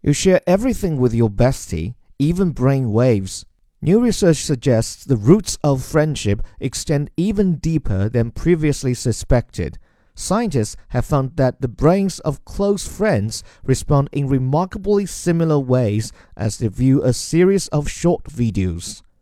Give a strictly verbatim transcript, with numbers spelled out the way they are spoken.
You share everything with your bestie, even brain waves. New research suggests the roots of friendship extend even deeper than previously suspected. Scientists have found that the brains of close friends respond in remarkably similar ways as they view a series of short videos.